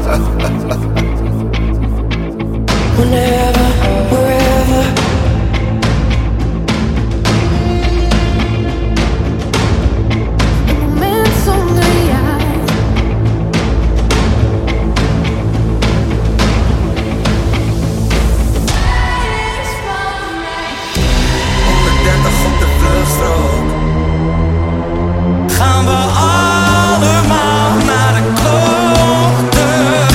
Whenever, wherever. Een moment zonder jou. 130 op de vluchtstrook. Gaan we allemaal naar de kloten.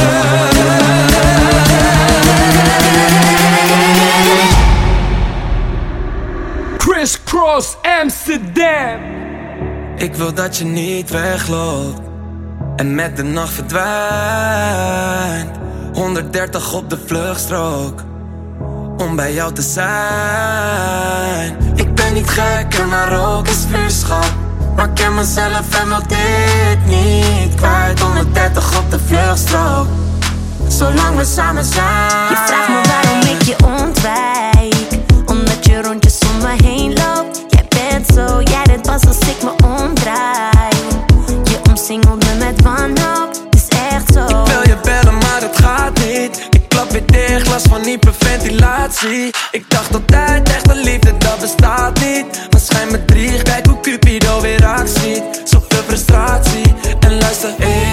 Crisscross Amsterdam. Ik wil dat je niet wegloopt en met de nacht verdwijnt. 130 op de vluchtstrook om bij jou te zijn. Ik ben niet gek en maar ook is vuurschap, maar ik ken mezelf en wil dit niet kwijt. 130 op de vluchtstrook, zolang we samen zijn. Je vraagt me waarom ik je ontwijk, omdat je rondjes om me heen loopt. Jij bent zo, jij bent pas als ik me omdraai. Je omsingelt me met wanhoop, het is echt zo. Ik wil je bellen maar het gaat niet. Ik klap weer dicht, last van hyperventilatie. Ik dacht altijd echte liefde dat bestaat niet, maar schijn me drie, kijk hoe Cupido weer actie. Zoveel frustratie en luister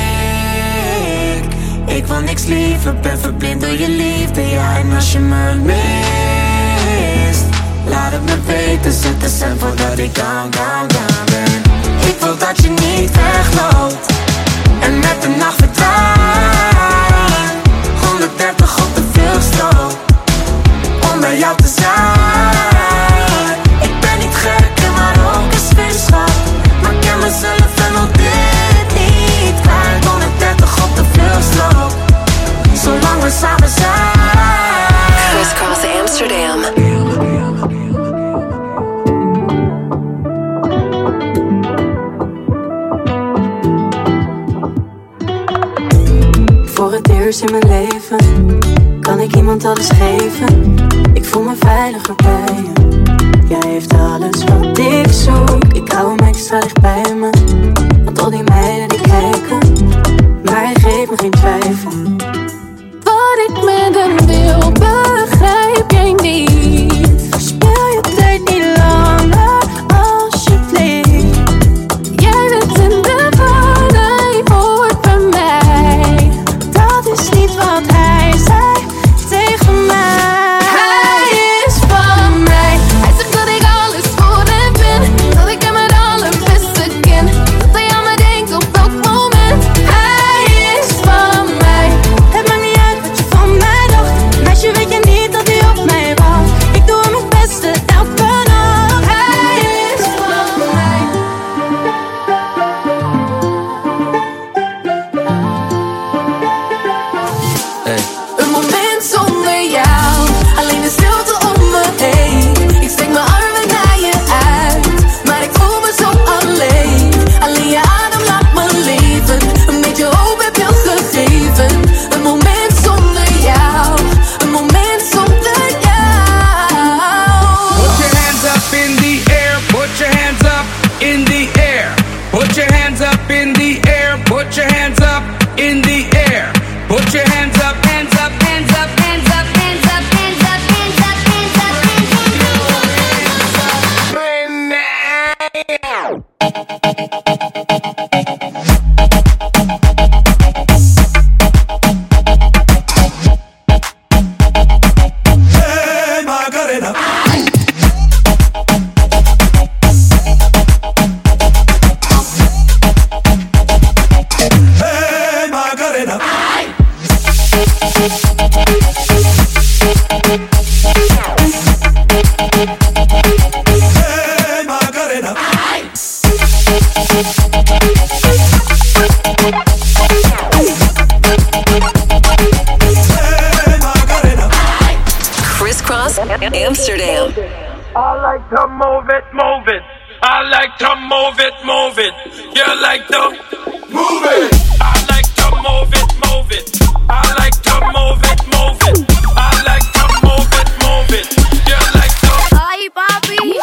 ik wil niks liever, ben verblind door je liefde. Ja, en als je me mist, laat het me weten, zet de cent voordat ik down ben. Ik wil dat je niet wegloopt en met de nacht verdwijnt. 130 op de vluchtstrook om bij jou te zijn. Ik ben niet gek en maar ook een sfeerschap, maar ik ken mezelf en wil dit niet kwijt. 130 op de vluchtstrook, zolang we samen zijn. Crisscross Amsterdam. Voor het eerst in mijn leven kan ik iemand alles geven. Ik voel me veiliger bij je. Jij heeft alles wat ik zoek. Ik hou hem extra dicht bij me, want al die meiden die kijken, maar hij geeft me geen twijfel. Wat ik met hem wil, begrijp jij niet. Verspil je tijd niet langer, alsjeblieft. Jij bent in de war, hij hoort bij mij. Dat is niet wat hij zei tegen mij. Hij is van mij. Hij zegt dat ik alles voor hem ben, dat ik hem het allerbeste ken, dat hij aan me denkt op elk moment. Hij is van mij. Het maakt niet uit wat je van mij dacht, meisje, weet je niet dat hij op mij wacht. Ik doe hem het beste elke nacht. Hij is van mij. Hey. Een moment zonder jou, alleen de stilte om me heen. Ik steek mijn armen naar je uit, maar ik voel me zo alleen. Alleen je adem laat me leven, een beetje hoop heb je gegeven. Een moment zonder jou, een moment zonder jou. Put your hands up in the air. Put your hands up in the air. Put your hands up in the air. Put your hands up in the air. Put your hands up, hands up, hands up, hands up, hands up, hands up, hands up, hands up, Hey Macarena. Hey Macarena. Hey Macarena. Hey Macarena. Crisscross Amsterdam. I like to move it, move it. I like to move it, move it. You like to move it. I like to move it, move it. I like to move it, move it. I like to move it, move it. You like to. Ay, papi.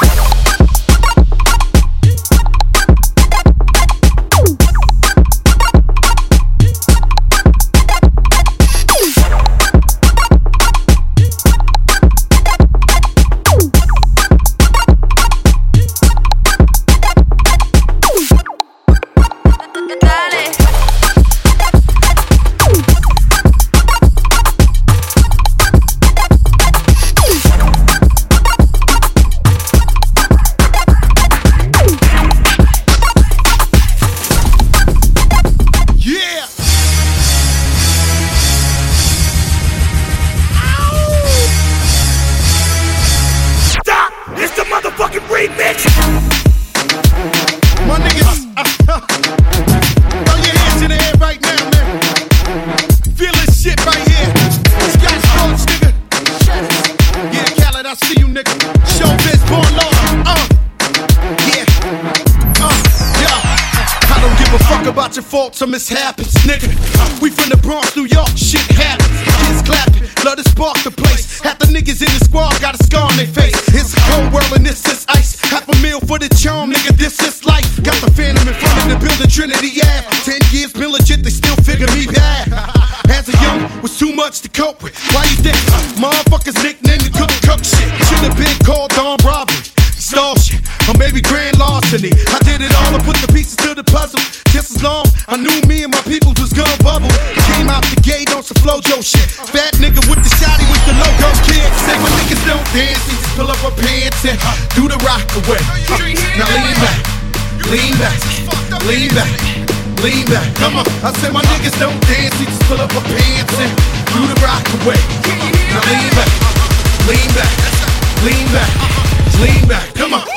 faults or mishaps, nigga. We from the Bronx, New York, shit happens. Kids clapping, love to spark the place. Half the niggas in the squad got a scar on their face. It's a cold world and this is ice. $500,000 for the charm, nigga, this is life. Got the Phantom in front of the building, Trinity Ave. 10 years been legit, they still figure me bad. As a young, was too much to cope with. Why you think motherfuckers nicknamed the cook shit? Should've been called Don Robbery, stall shit, or maybe grand larceny. I did it all and put the pieces to the puzzle. Just as long I knew me and my people was gonna bubble. Came out the gate on some Flojo shit. Fat nigga with the shotty with the logo kid. Say my niggas don't dance, they just pull up our pants and do the rock away. Now lean back, lean back, lean back, lean back. Come on, I said my niggas don't dance, they just pull up our pants and do the rock away. Now lean back, lean back, lean back, lean back. Come on.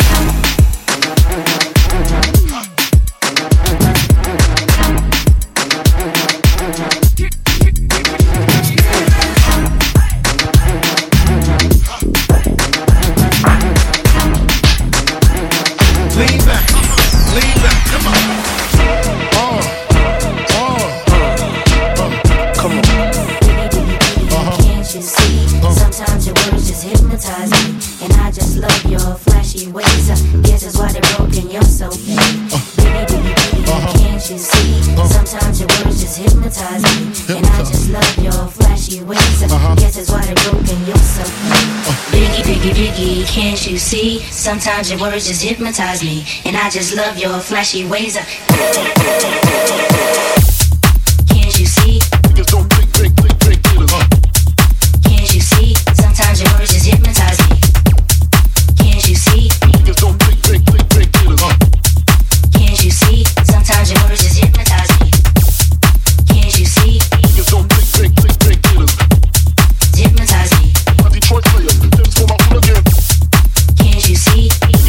Can't you see? Sometimes your words just hypnotize me, and I just love your flashy ways. Can't you see? Can't you see? Sometimes your words just hypnotize me. Can't you see? Can't you see? Sometimes your words just hypnotize me. Can't you see? Hypnotize me. Can't you see?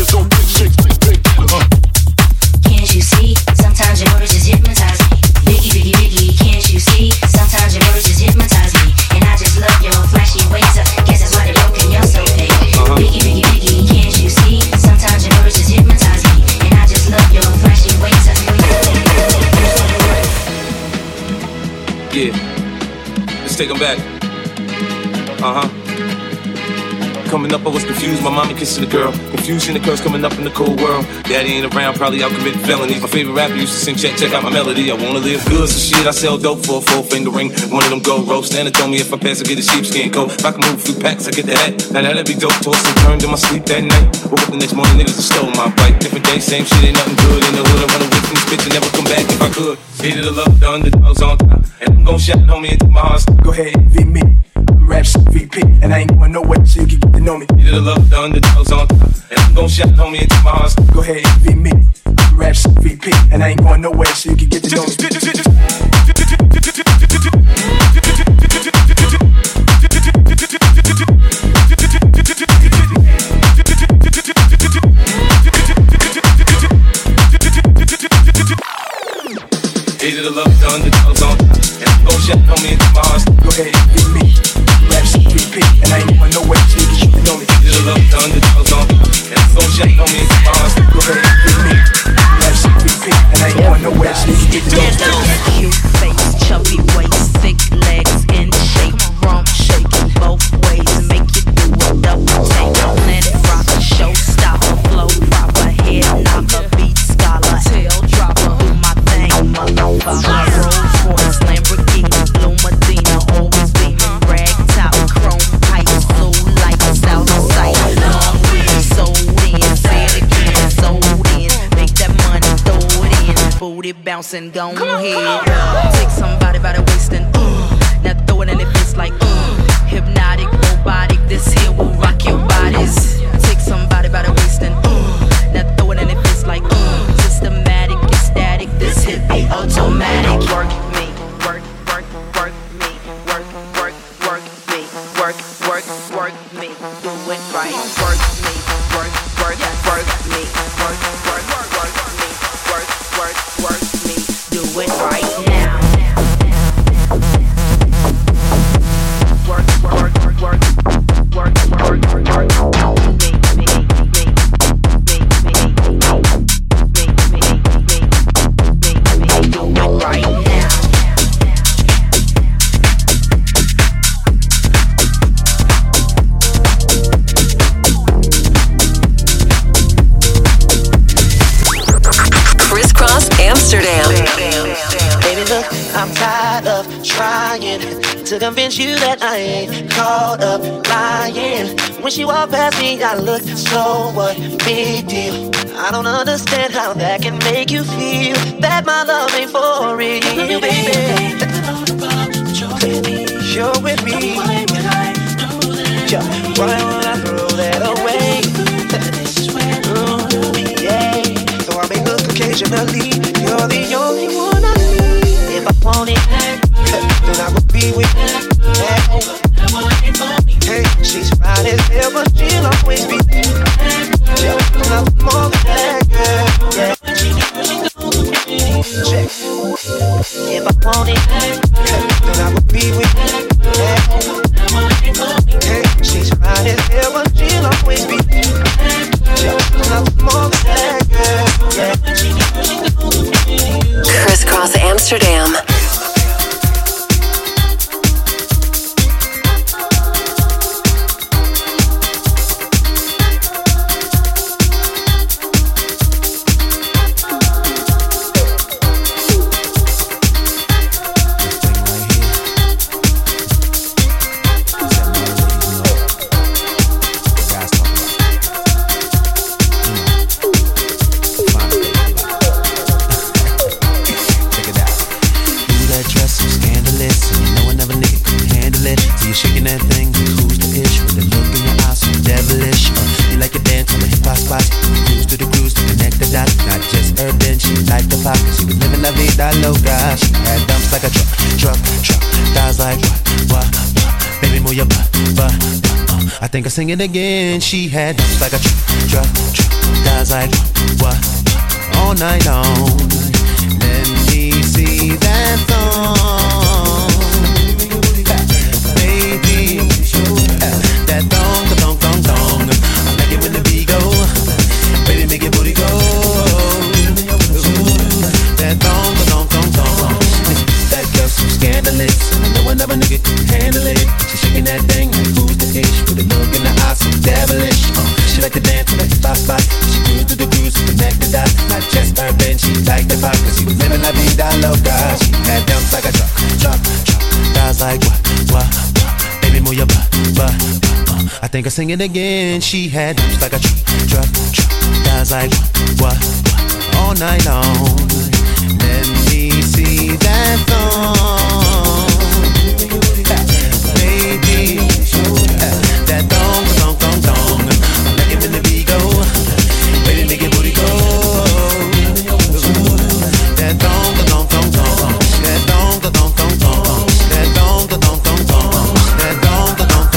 Can't you see? Sometimes your words just hypnotize me. Biggie, biggie, biggie, can't you see? Sometimes your words just hypnotize me, and I just love your flashy ways. Guess that's why they broken you're so fake. Biggie, biggie, biggie, can't you see? Sometimes your words just hypnotize me, and I just love your flashy ways. Yeah, let's take them back. Coming up, I was confused. My mommy kissing the girl. Confusion occurs coming up in the cold world. Daddy ain't around, probably out committing felonies. My favorite rapper used to sing, check out my melody. I wanna live good, so shit, I sell dope for a 4-finger ring. One of them gold roast. Nana told me if I pass, I get a sheepskin coat. If I can move a few packs, I get the hat. Now that'd be dope. Tossed and turned in my sleep that night. Woke up the next morning, niggas just stole my bike. Different day, same shit, ain't nothing good. In the hood, I run away from this bitch and never come back if I could. Hated the love, the underdogs on top. And I'm gon' shout, homie, into my heart. Go ahead, envy me. Raps VP, and I ain't going nowhere so you can get to know me. Hated the love, the underdogs on top. And I'm gon' shout, homie, into my heart. Go ahead, envy me. Raps VP, and I ain't going nowhere so you can get to know me. Hated the love, the underdogs on top. And I'm gon' shout, homie, into my heart. Go ahead, envy me. Raps VP, and I ain't going nowhere so you can get to know me. Hated the love, the underdogs on top. And I'm gon' shout, homie, into my heart. Go ahead, envy me. Raps VP, and I ain't going nowhere so you can get to know me. Cute face, chubby waist, thick legs in shape, rump shaking both ways, make you do a double take. Planet rocker, showstopper, flow proper, head knocker, beat scholar, tail dropper, do my thing, motherfucker. Rolls Royce, Lamborghini, Blue Medina, always beaming, rag top, chrome pipes, blue lights out of sight. Long weed, sold in, say it again, sold in, make that money, throw it in, booty bouncing, go ahead. Take somebody by the waist and now throw it in their face like hypnotic, robotic, this here will rock your bodies. Take somebody by the waist and now throw it in their face like systematic, ecstatic, this hit be automatic. Work me, work, work, work me, work, work, work me, work, work, work me, do it right. Work me, work, work, work me, work, work, work me, work, work, work me, do it right now. tired of trying to convince you that I ain't caught up lying. When she walked past me, I looked, so what? Big deal. I don't understand how that can make you feel that my love ain't for real, baby. You're with me. Yeah, why would I throw that away? Yeah. So I make look occasionally. You're the only one I need. If I want it, then I will be with you. Hey, she's fine as hell, but she'll always be there. Yeah, nothing more than that, girl. Yeah. Check. If I want it, then I will be with you. Hey, she's fine as hell, but she'll always be there. Yeah, nothing more than that, girl. Yeah. Crisscross Amsterdam. I think I sing it again. She had dumps like a truck, guys like what, all night long. Let me see that thong, baby. That thong. I like it when the beat go, baby, make your booty go. That thong. That girl's so scandalous. I know another nigga can handle it. She shaking that thing like who's the ish, with a look in the eyes so devilish. She like to dance on the spot. She grew through the grooves to connect the dots. Not just urban, she liked the pop, cause she was living la vida loca. She had dumps like a truck. Guys like what, baby, move your butt. I think I sing it again. She had dumps like a truck. Guys like what, all night long. Let me see that thong, baby. That thong. I like it when the beat go, baby, make your booty go. That thong. That thong. That thong. That thong. That thong. That thong. That thong. That thong.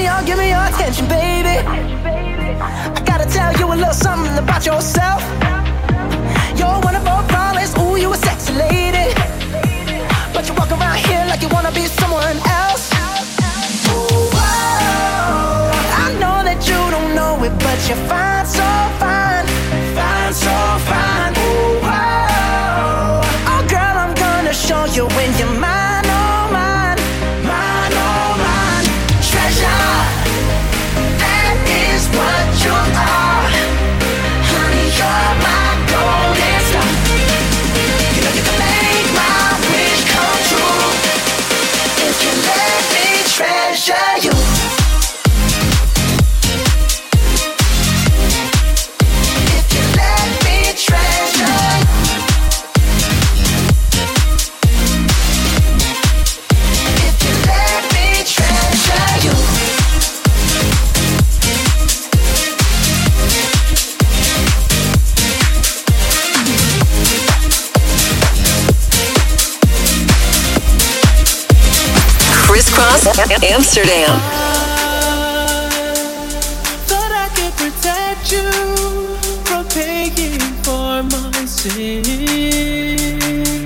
give me your attention, baby. I gotta tell you a little something about yourself. You're one of our flawless, ooh, you a sexy lady. But you walk around here like you wanna be someone else. Ooh, whoa. I know that you don't know it, but you're fine, so fine. Fine, so fine. Ooh, whoa. Oh, girl, I'm gonna show you when you're mine, oh, mine. Mine, oh, mine. Treasure, that is what you are. Honey, you're my golden star. You know you can make my wish come true if you let me treasure you. If you let me treasure you. If you let me treasure you. Crisscross Amsterdam. Thought I could protect you from paying for my sins.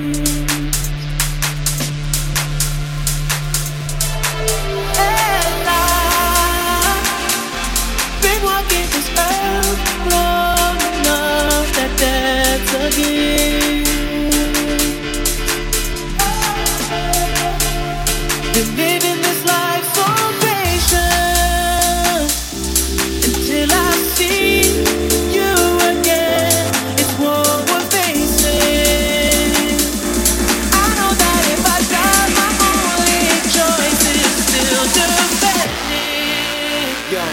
And I've been walking this earth long enough that that's a gift. Been living this life so patient until I see you again. It's what we're facing. I know that if I die, my only choice is still defending. Yo.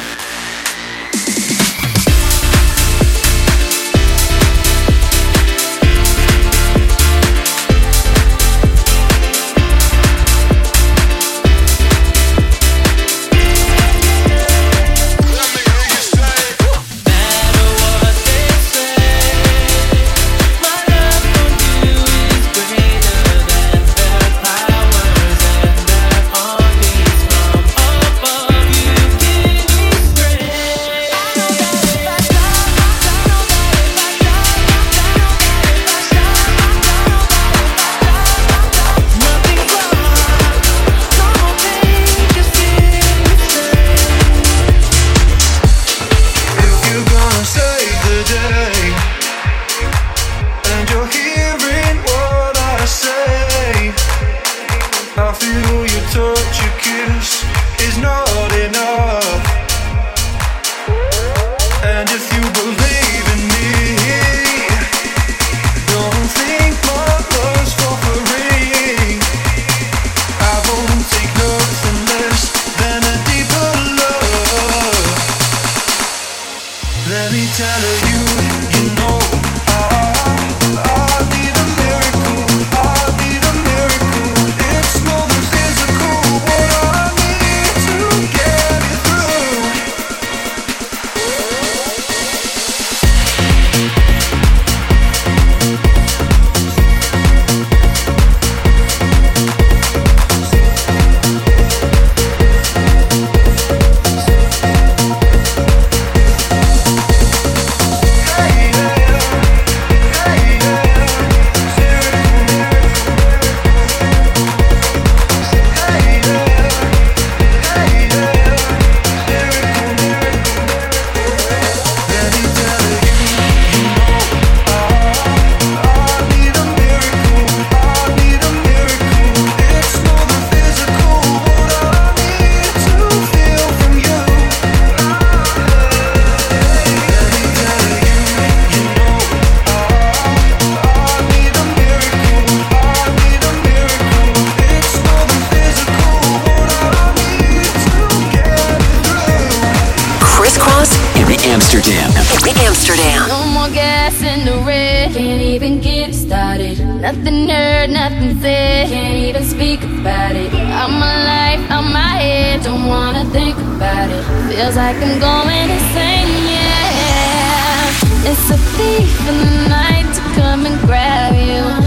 Amsterdam. No more gas in the red, can't even get it started. Nothing heard, nothing said, can't even speak about it. Out my life, out my head, don't wanna think about it. Feels like I'm going insane, yeah. It's a thief in the night to come and grab you. It can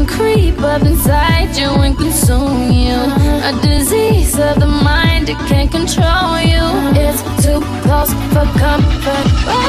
can creep up inside you and consume you. A disease of the mind, it can't control you. It's too close for comfort.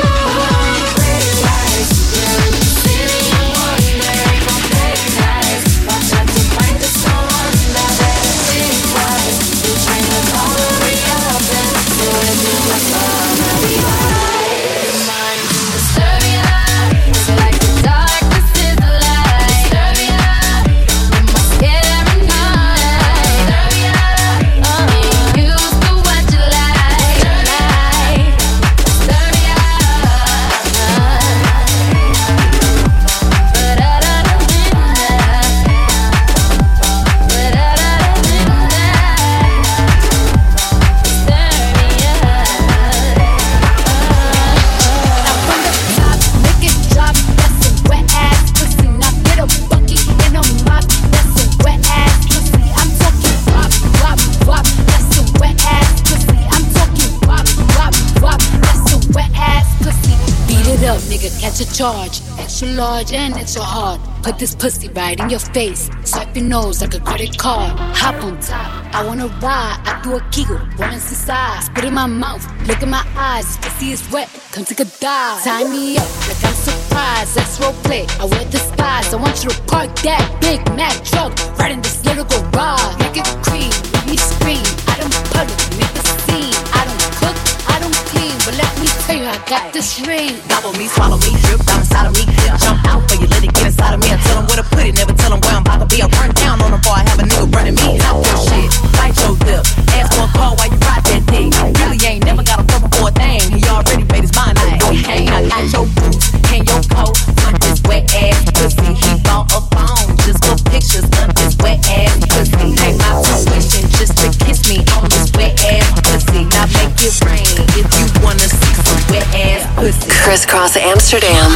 Charge, extra large and extra hard. Put this pussy right in your face. Swipe your nose like a credit card. Hop on top, I wanna ride. I do a kegel, one inside. Spit in my mouth, look in my eyes. This pussy is wet, come take a dive. Tie me up like I'm surprised. Let's role play, I wear disguise. I want you to park that Big Mac truck right in this little garage. Make it cream, let me scream. I don't public, make a scene. I don't cook, I don't clean, but let me tell you, I got this ring. Gobble me, swallow me, drip down inside of me. Jump out for you, let it get inside of me. I tell them where to put it, never tell them where I'm about to be. I'll burn down on them before I have a nigga running me. Talk your shit, bite your lip. Ask for a call while you ride that dick. Really ain't never got a problem for a thing. He already made his mind up. Hey, I got your boots and your coat on this wet ass pussy. He bought a phone just for pictures of this wet ass pussy. Hey, my tuition just to kiss me on this wet ass pussy. Now make it rain if you wanna see some wet ass pussy. Crisscross Amsterdam.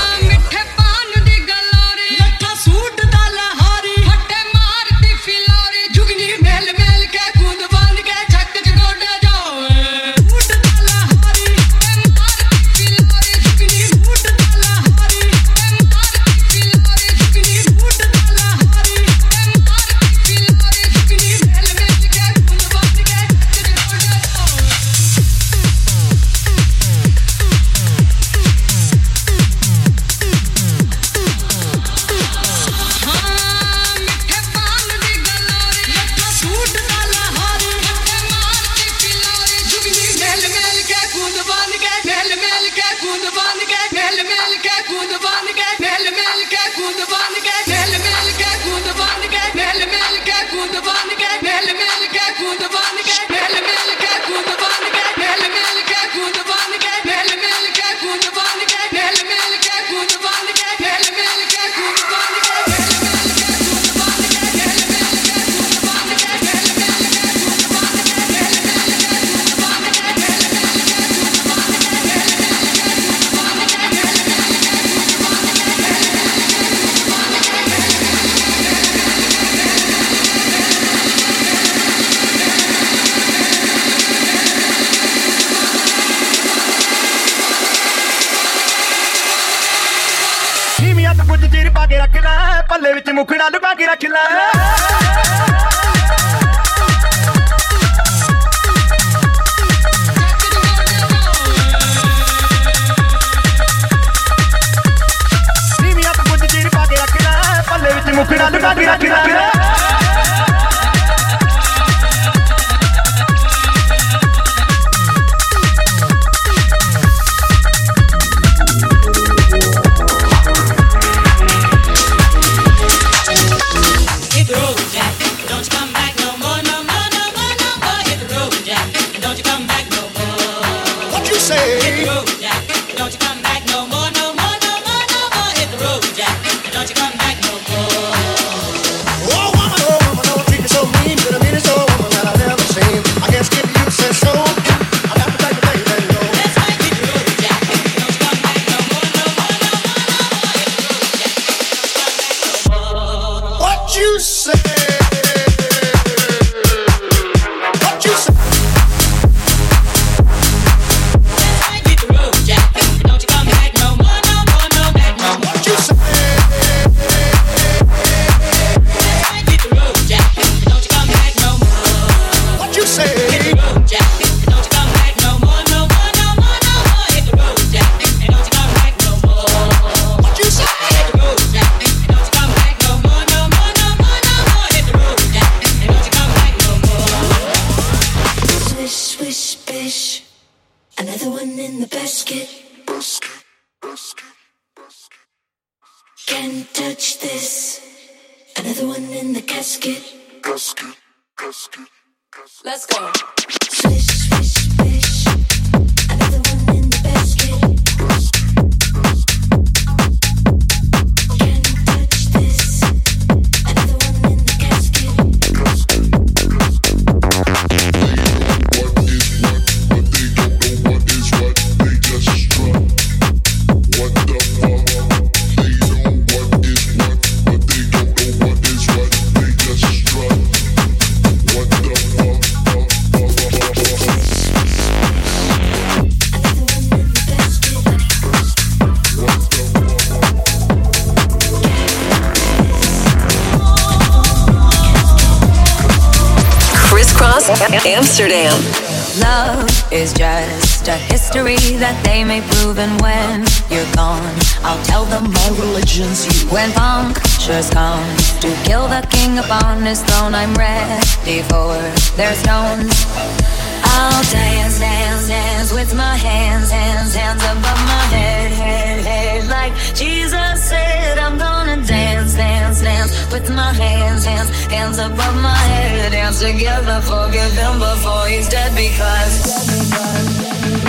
ਪੱਲੇ ਵਿੱਚ ਮੁਖੜਾ ਲੁਕਾ ਕੇ ਰੱਖ ਲੈ ਨੀਵੀਆਂ ਤੋਂ ਕੁਝ ਚੀਰ ਪਾ ਕੇ ਰੱਖ ਲੈ ਪੱਲੇ ਵਿੱਚ ਮੁਖੜਾ ਲੁਕਾ ਕੇ ਰੱਖ ਲੈ Hit the road. Another one in the basket. Can't touch this. Another one in the casket. Let's go. Swish, swish, swish. Another one in the basket. Can't touch this. Another one in the casket. Amsterdam. Love is just a history that they may prove, and when you're gone, I'll tell them my religion's you. When punctures come to kill the king upon his throne, I'm ready for their stones. I'll dance, dance, dance with my hands, hands, hands above my head, head, head. Like Jesus said, I'm gonna dance, dance, dance with my hands, hands, hands above my head. Dance together, forgive him before he's dead because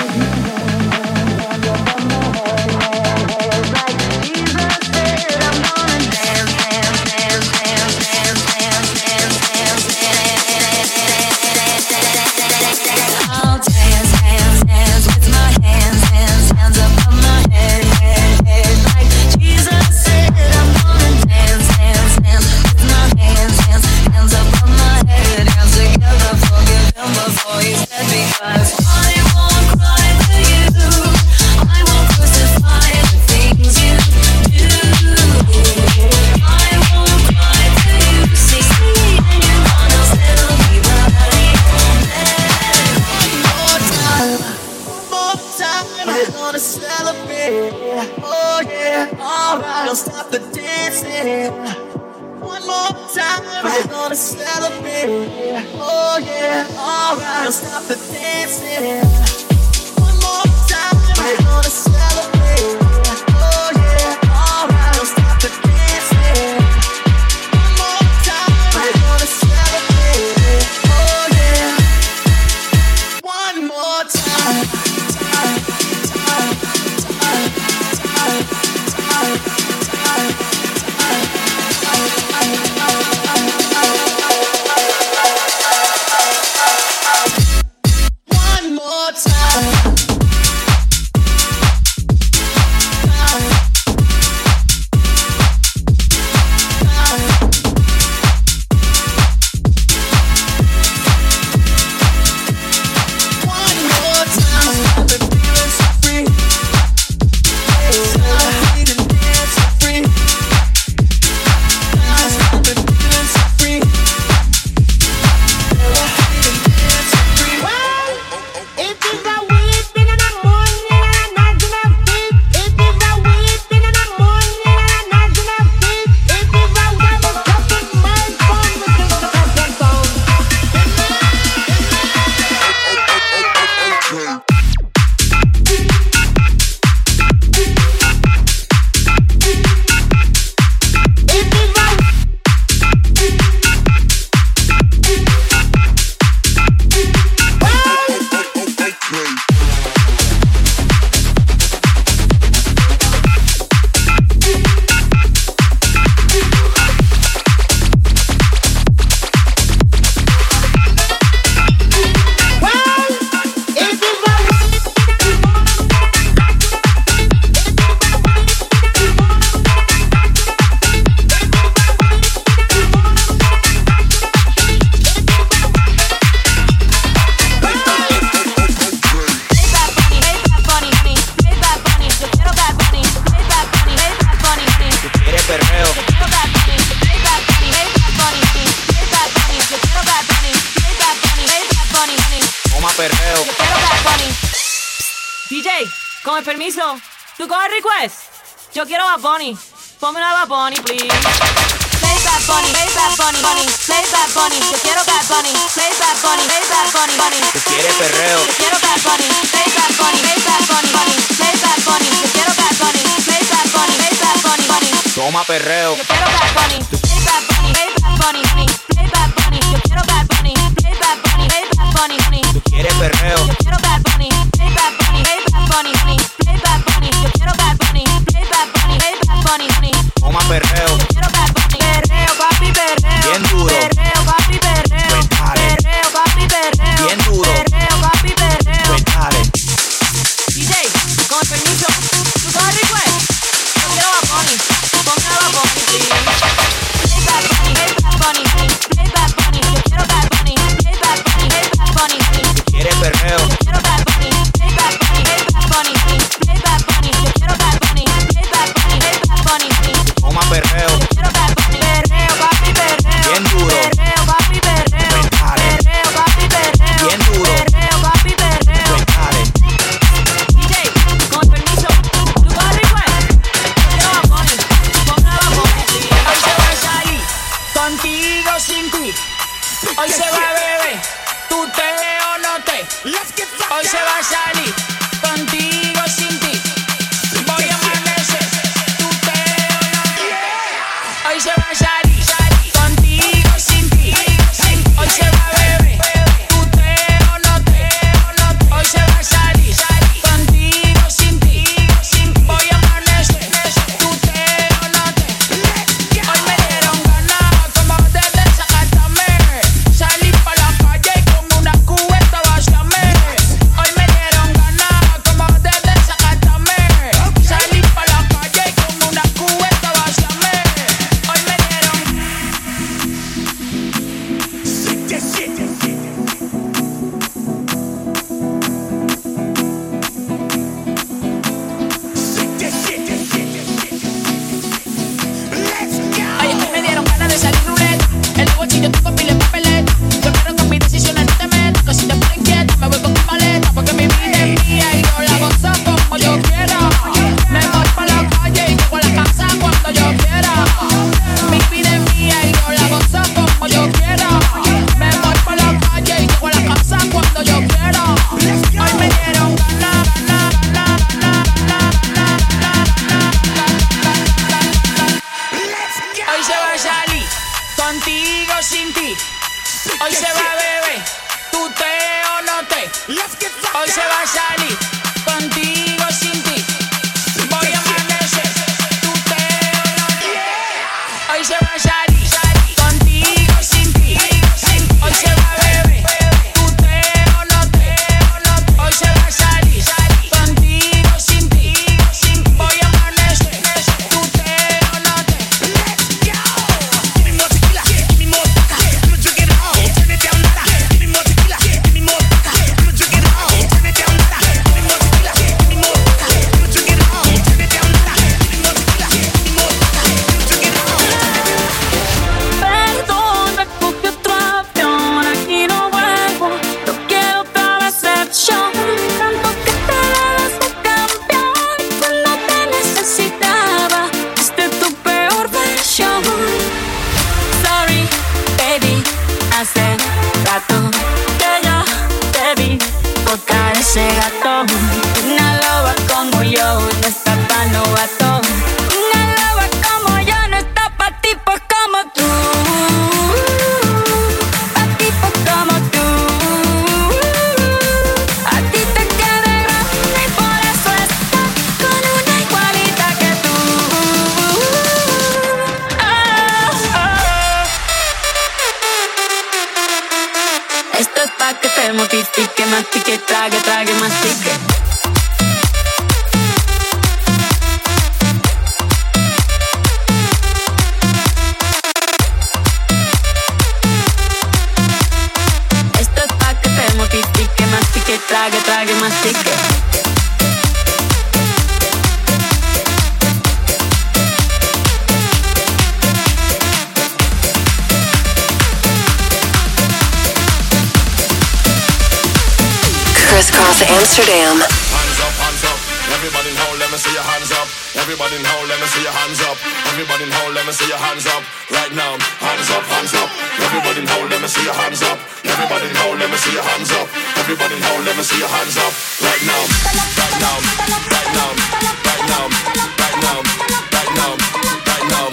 Con el permiso, ¿tú coges request? Yo quiero a Bunny. Ponme una Bunny, please. Play Bad Bunny, play Bad Bunny, Bunny. Play Bad Bunny, yo quiero Bad Bunny. Play Bad Bunny, play Bad Bunny, Bunny. ¿Tú quieres perreo? Yo quiero Bad Bunny, play Bad Bunny. o más perreo. Yo quiero Bad Bunny, play Bad Bunny, play Bad Bunny, play Bad Bunny. Yo quiero Bad Bunny, play Bad Bunny, play Bad Bunny. Tú quieres perreo. Yo quiero Bad Bunny, play Bad Bunny, play Bad Bunny, play Bad Bunny. Yo quiero Bad Bunny, play Bad Bunny, play Bad Bunny. O más perreo. Yo quiero Bad Bunny, perreo, papi, perreo. Bien duro. Perreo, papi, perreo. Perreo, papi, perreo. Bien duro. Perreo, papi, perreo. Pues dale. DJ, con permiso, ¿tú sabes request? Yo quiero Bad Bunny, ponme a Bad Bunny, please. Play Bad Bunny, play Bad Bunny, play Bad Bunny. Yo quiero Bad Bunny, play Bad Bunny, play Bad Bunny. Tú quieres perreo. Yo quiero Bad Bunny, play Bad Bunny, play Bad Bunny, play Bad Bunny. Yo quiero Bad Bunny, play Bad Bunny, play Bad Bunny. O más perreo. Yo quiero Bad Bunny, perreo, papi, perreo. Bien duro. Perreo, papi, perreo. Perreo, papi, perreo. Bien duro. Perreo, papi, perreo. Pues dale. DJ, con permiso, ¿tú vas a request? Yo quiero Bad Bunny, ponme a Bad Bunny, please. Hoy se va a salir, contigo sin ti. Hoy se va a beber, tú te o no te. Hoy se va a salir, contigo sin ti. Voy a amanecer, tú te o no te. Hoy se va a salir, contigo sin ti. Hoy se va a beber, tú te o no te. Hoy se va a salir, contigo sin ti. Voy a amanecer, tú te o no te. Hoy me dieron ganas como de desacatarme. Salí pa' la calle y con una cubeta vaciarme. Hoy me dieron ganas como de desacatarme. Salí pa' la calle y con una cubeta vaciarme. Hoy me dieron. Ay, es que me dieron ganas de salir ruleta. En el bolsillo tengo pila de papeleta. Yo quiero con mis decisiones no te metas. Que si te pones inquieta me voy con tu maleta. Porque mi vida es mía y yo la gozo como yo quiera. Me voy pa' la calle y llego a la casa cuando yo quiera. Mi vida es mía y yo la gozo como yo quiera. Me voy pa' la calle y llego a la casa cuando yo quiera. Hoy me dieron ganas. Hoy se va a salir, contigo sin ti. Hoy se va a beber, tú te o no te. Hoy se va a salir, contigo sin ti. Voy a amanecer, tú te o no te. Hoy se va a salir, contigo sin ti. Hoy se va a beber, tú te o no te. Hoy se va a salir, contigo sin ti. Voy a amanecer, tú te o no te. Give me more tequila, give me more vodka. I'ma drink it all, turn it down, nada. Give me more tequila, give me more vodka. I'ma drink it all, turn it down, nada. Give me more tequila, give me more vodka. I'ma drink it all, turn it down, nada. Give me more tequila, give me more vodka. I'ma drink it all. Perdón, me cogí otro avión, aquí no vuelvo. No quiero otra decepción. Tanto que te dabas de campeón cuando te necesitaba. Fuiste tu peor versión. Sorry, baby, hace rato que yo te vi tocar ese gato. Una loba como yo no está pa' novato. Una loba como yo no está pa' tipos como tú. Pa' tipos como tú. A ti te queda grande y por eso estás con una igualita que tú. Esto es pa' que te mortifique, mastique, trague, trague, mastique. Esto es pa' que te mortifique, mastique, trague, trague, mastique. Crisscross Amsterdam. Hands up, hands up. Everybody in hole, let me see your hands up. Everybody in hole, let me see your hands up. Everybody in hole, let me see your hands up. Right now, hands up, hands up. Everybody in hole, let me see your hands up. Everybody in hole, let me see your hands up. Everybody in hole, let me see your hands up. Right now, right now, right now, right now, right now, right now, right now.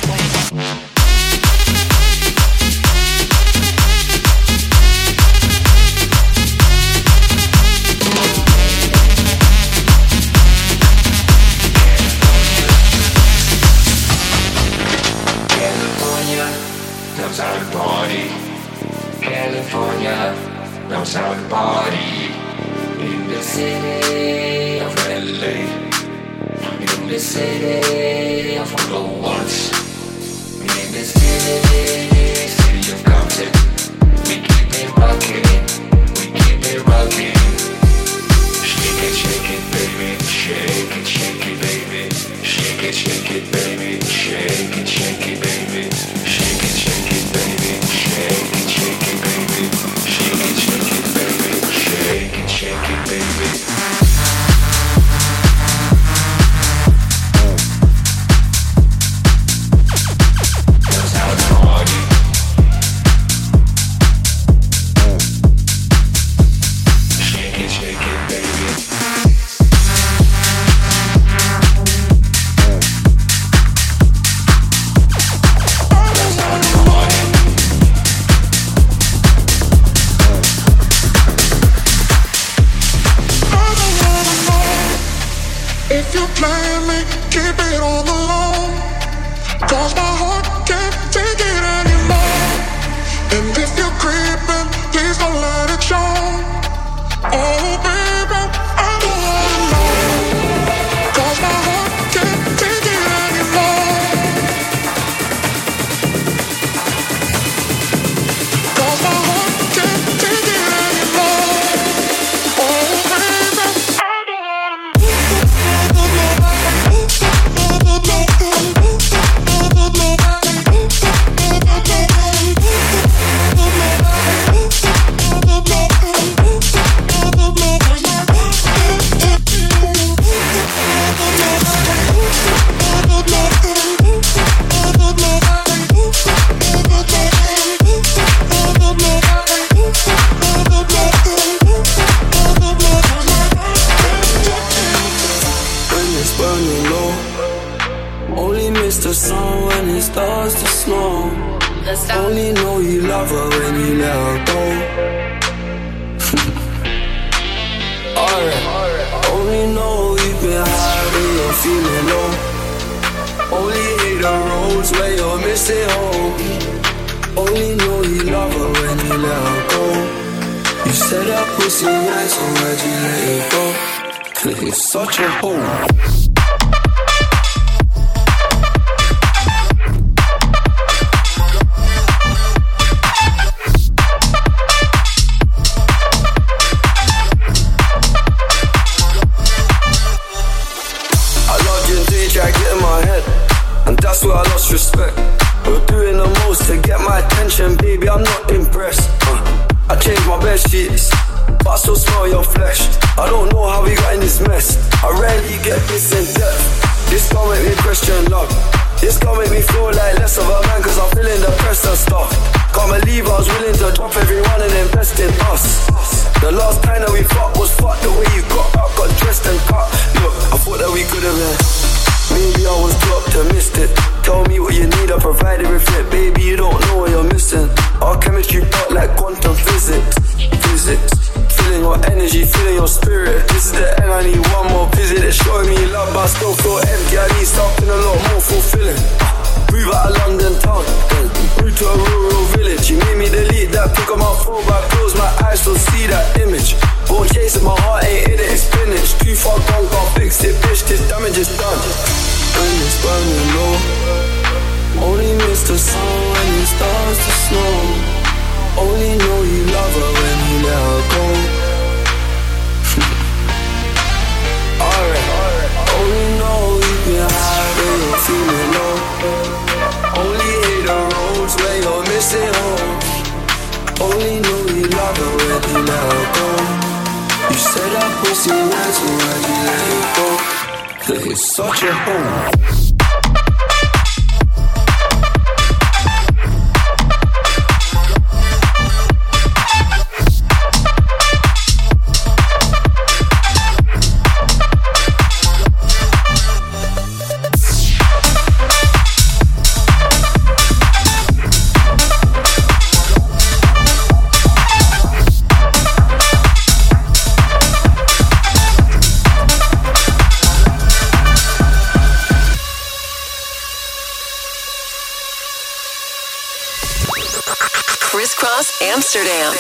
knows how to party. California knows how to party. In the city of LA, in the city of Blowouts, in the city of Compton, we keep it rocking, we keep it rocking. Shake it, baby, shake it, baby, shake it, baby, shake it, baby, shake it, baby, shake it, baby, shake it, baby, shake it, baby. If you're playing me, keep it on the low, 'cause my heart can't take it anymore. And if you're creeping, please don't let it show. Oh baby, I don't wanna know, 'cause my heart can't take it anymore. 'Cause my heart can't take it anymore. Oh baby, I don't wanna know. Sun when it starts to snow. Only know you love her when you let her go. Alright. Only know you've been high when you're feeling low. Only hate the roads where you're missing home. Only know you love her when you let her go. You said that pussy nice, so why'd you let it go? It's such a hole. That's where I lost respect. You're doing the most to get my attention, baby, I'm not impressed. I changed my bed sheets, but I still smell your flesh. I don't know how we got in this mess. I rarely get this in depth. This gon' make me question love. This gon' make me feel like less of a man, 'cause I'm feeling depressed and stuff. Can't believe I was willing to drop everyone and invest in us. The last time that we fucked was fucked. The way you got up, got dressed and cut. Look, I thought that we could've been. Maybe I was too optimistic. Tell me what you need, I provide it with it. Baby, you don't know what you're missing. Our chemistry felt like quantum physics. Feeling your energy, feeling your spirit. This is the end, I need one more visit. It's showing me love, but I still feel empty. I need something a lot more fulfilling. Move out of London town, move to a rural village. You made me delete that pick on my phone, but I close my eyes, still see that image. Won't chase it, my heart ain't in it, it's finished. Too far gone, can't fix it, bitch, this damage is done. When it's burning low, only miss the sun when it starts to snow. Only know you love her when you let her go. Alright, only know you've been high when you're feeling low. Only hate the roads where you're missing home. Only know you love her when you let her go. You said that pussy nice, so why'd you let it go? 'Cause it's such a hole. Crisscross Amsterdam.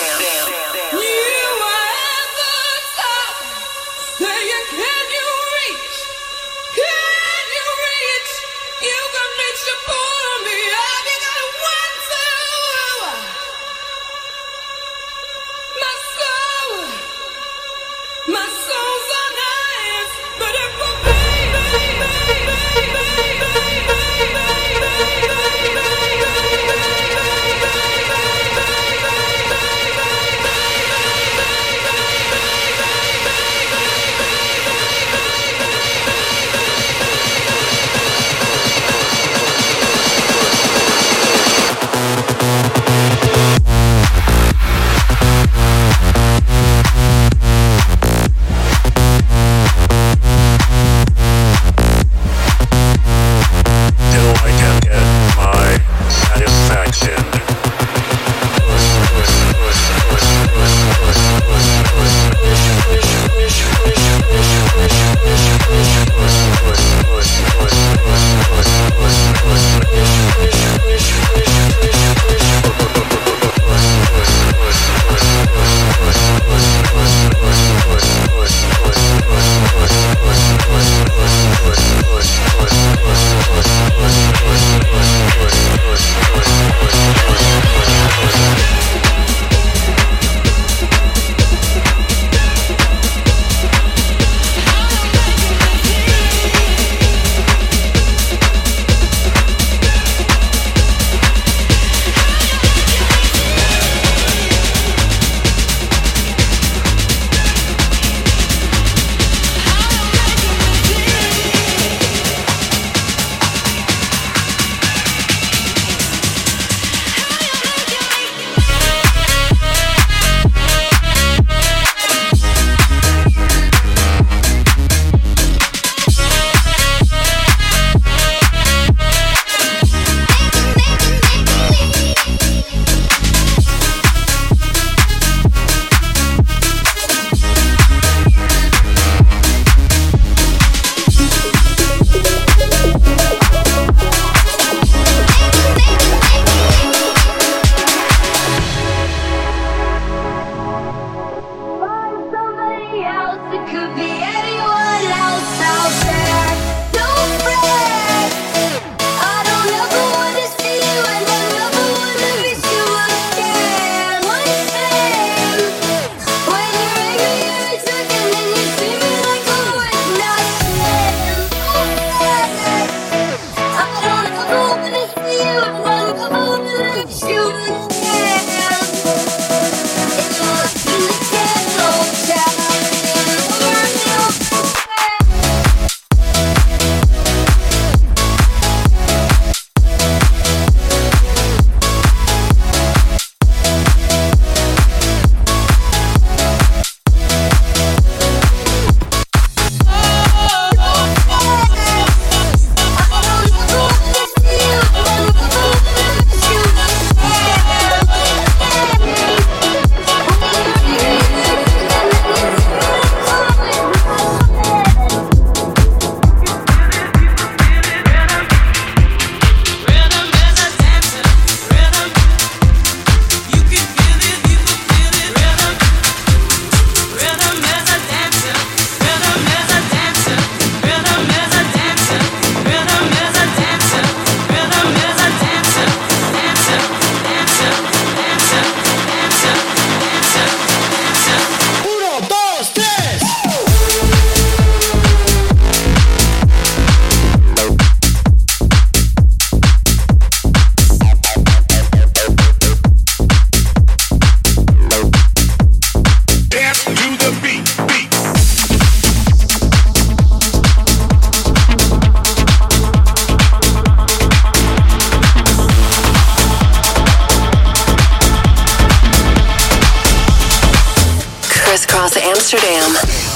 Crisscross Amsterdam.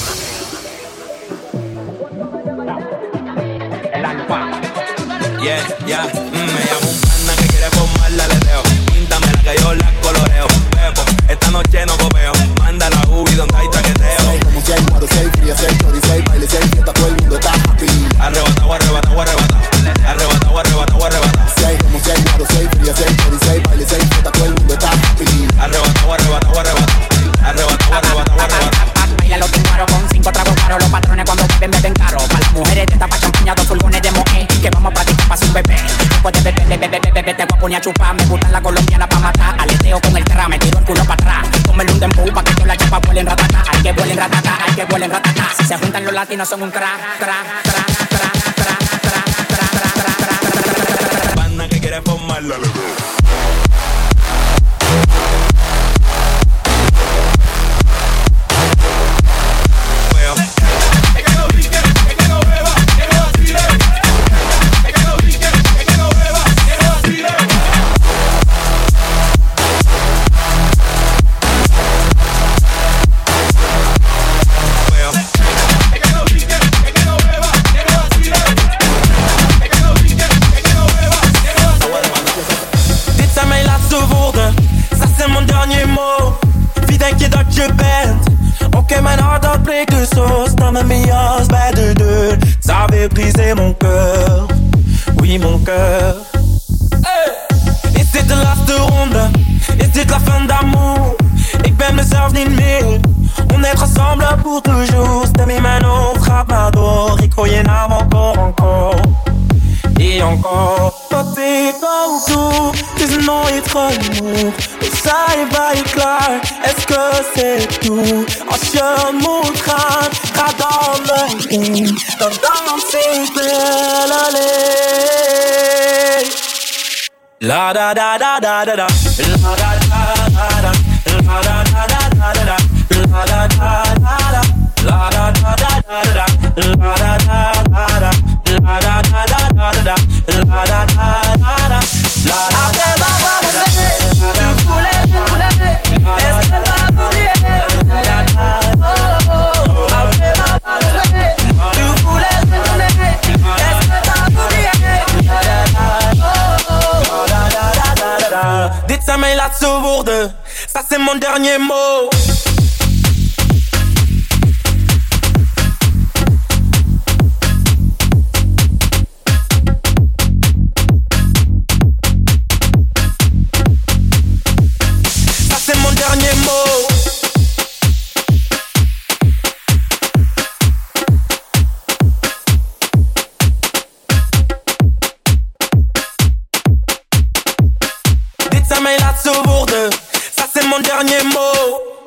Yeah, yeah, me llamo un pana que quiere formarla, le dejo. Píntamela que yo la coloreo. Pepo, esta noche no copeo. Manda la ubi donde hay taqueteo. Como si hay guaro, si hay fría, si hay chori, si hay baile, si hay fiesta, todo el mundo está happy. Arrebatado, arrebatado, arrebatado. Arrebatado, arrebatado, arrebatado. Si hay como si hay guaro, si hay fría, si hay chori, si hay baile, si hay fiesta, todo el mundo está happy. pone a chupar. Me gusta la colombiana pa' matar. Aleteo con el tra, me tiro el culo pa' atrás. Tómelo un dembow pa' que todas las chapas vuelen ratata. Hay que vuelen ratata, hay que vuelen ratata. Si se juntan los latinos son un crack. Banda que quiere formarla. je bent. Oké, mijn hart dat breekt dus zo. Sta met mijn jas bij de deur. Ça veut briser mon cœur. Oui, mon cœur. Is dit de laatste ronde? Is dit la fin d'amour? Ik ben mezelf niet meer. On est ensemble pour toujours. Stem in mijn hoofd gaat maar door. Ik hoor je naam encore. Et encore. Wat ik ook doe, het is nooit genoeg. Dus zij bij je klaar, est-ce que c'est tout? Als je moet gaan, ga dan meteen. Dan dans ik wel alleen. La da da da da da da. La da da da da. La da da da da da. La da da da da. La da da da da da. La da da da da. La da da da da da. La da da da da. Après m'avoir aimé, tu voulais, est-ce que t'as oublié? Après m'avoir aimé, tu voulais, est-ce que t'as oublié? Dit zijn mijn laatste woorden, ça c'est mon dernier mot. Dit zijn mijn laatste woorden, ça c'est mon dernier mot.